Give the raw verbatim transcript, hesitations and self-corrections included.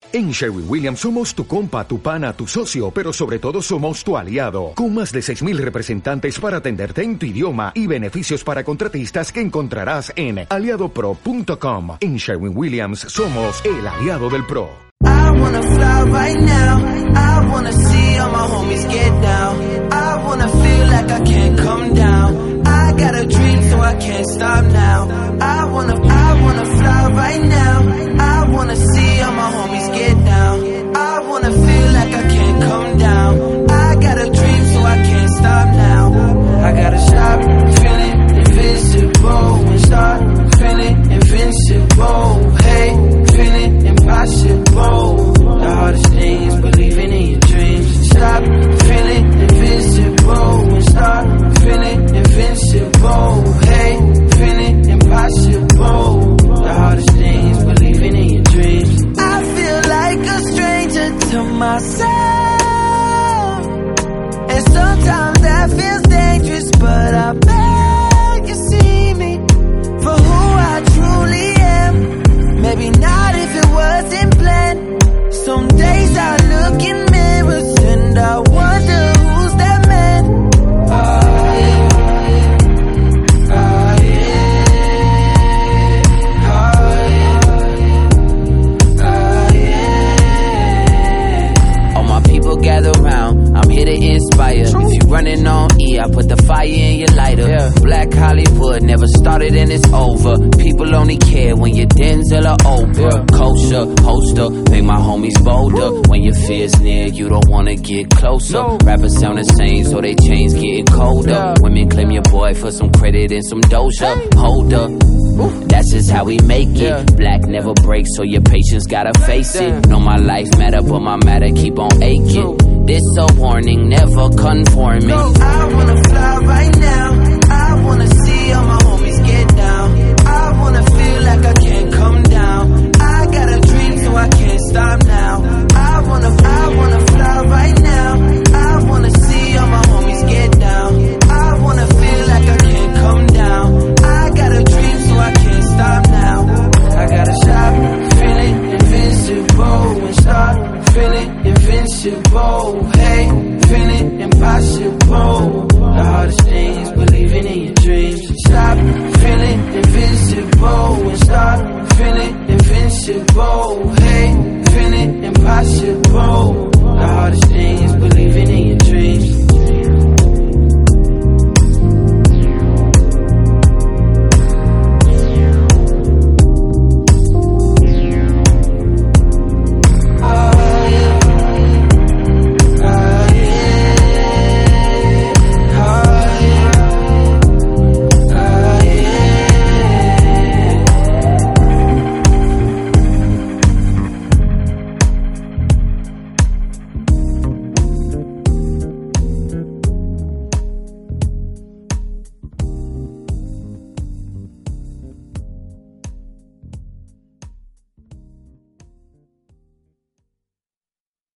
En Sherwin-Williams somos tu compa, tu pana, tu socio, pero sobre todo somos tu aliado, con más de seis mil representantes para atenderte en tu idioma y beneficios para contratistas que encontrarás en aliado pro punto com. En Sherwin-Williams somos el aliado del pro. I wanna fly right now, I wanna see all my homies get down, I wanna feel like I can't come down, I got a dream so I can't stop now, I wanna, I wanna fly right now, I wanna see all my homies get down, I wanna feel like I can't come down, I got a dream so I can't stop now, I gotta stop feeling invisible and start feeling invincible, hey, feeling impossible. The hardest thing is believing in your dreams. Stop feeling invisible and start feeling invincible. Hey, feeling impossible. The hardest thing is believing in your dreams. I feel like a stranger to myself, and sometimes that feels dangerous, but I beg you see me for who I truly am. Maybe not if it wasn't planned. Some days I look in mirrors and I wonder who's that man. Oh yeah, oh yeah, oh yeah, all my people gather round, I'm here to inspire. If you running on E, I put the fire in your lighter. Yeah. Black Hollywood never started and it's over. People only care when you're Denzel or Oprah. Yeah. Kosher, holster, make my homies bolder. Woo. When your fear's near, you don't wanna get closer. No. Rappers sound the same, so they chains getting colder. Yeah. Women claim your boy for some credit and some doja. Hey. Hold up. Ooh. That's just how we make it. Yeah. Black never breaks, so your patience gotta face Damn. It. Know my life matter, but my matter keep on aching. True. This a warning, never conforming. No. I wanna fly right now, I wanna see all my homies get down, I wanna feel like I can't come down, I got a dream so I can't stop now, I wanna, I wanna fly right now, I wanna see all my homies get down, I wanna feel like I can't come down, I got a dream so I can't stop now, I gotta stop feeling invincible and start feeling invincible, hey, feeling impossible. The hardest thing is believing in your dreams. Stop feeling invincible and start feeling invincible, hey, feeling impossible.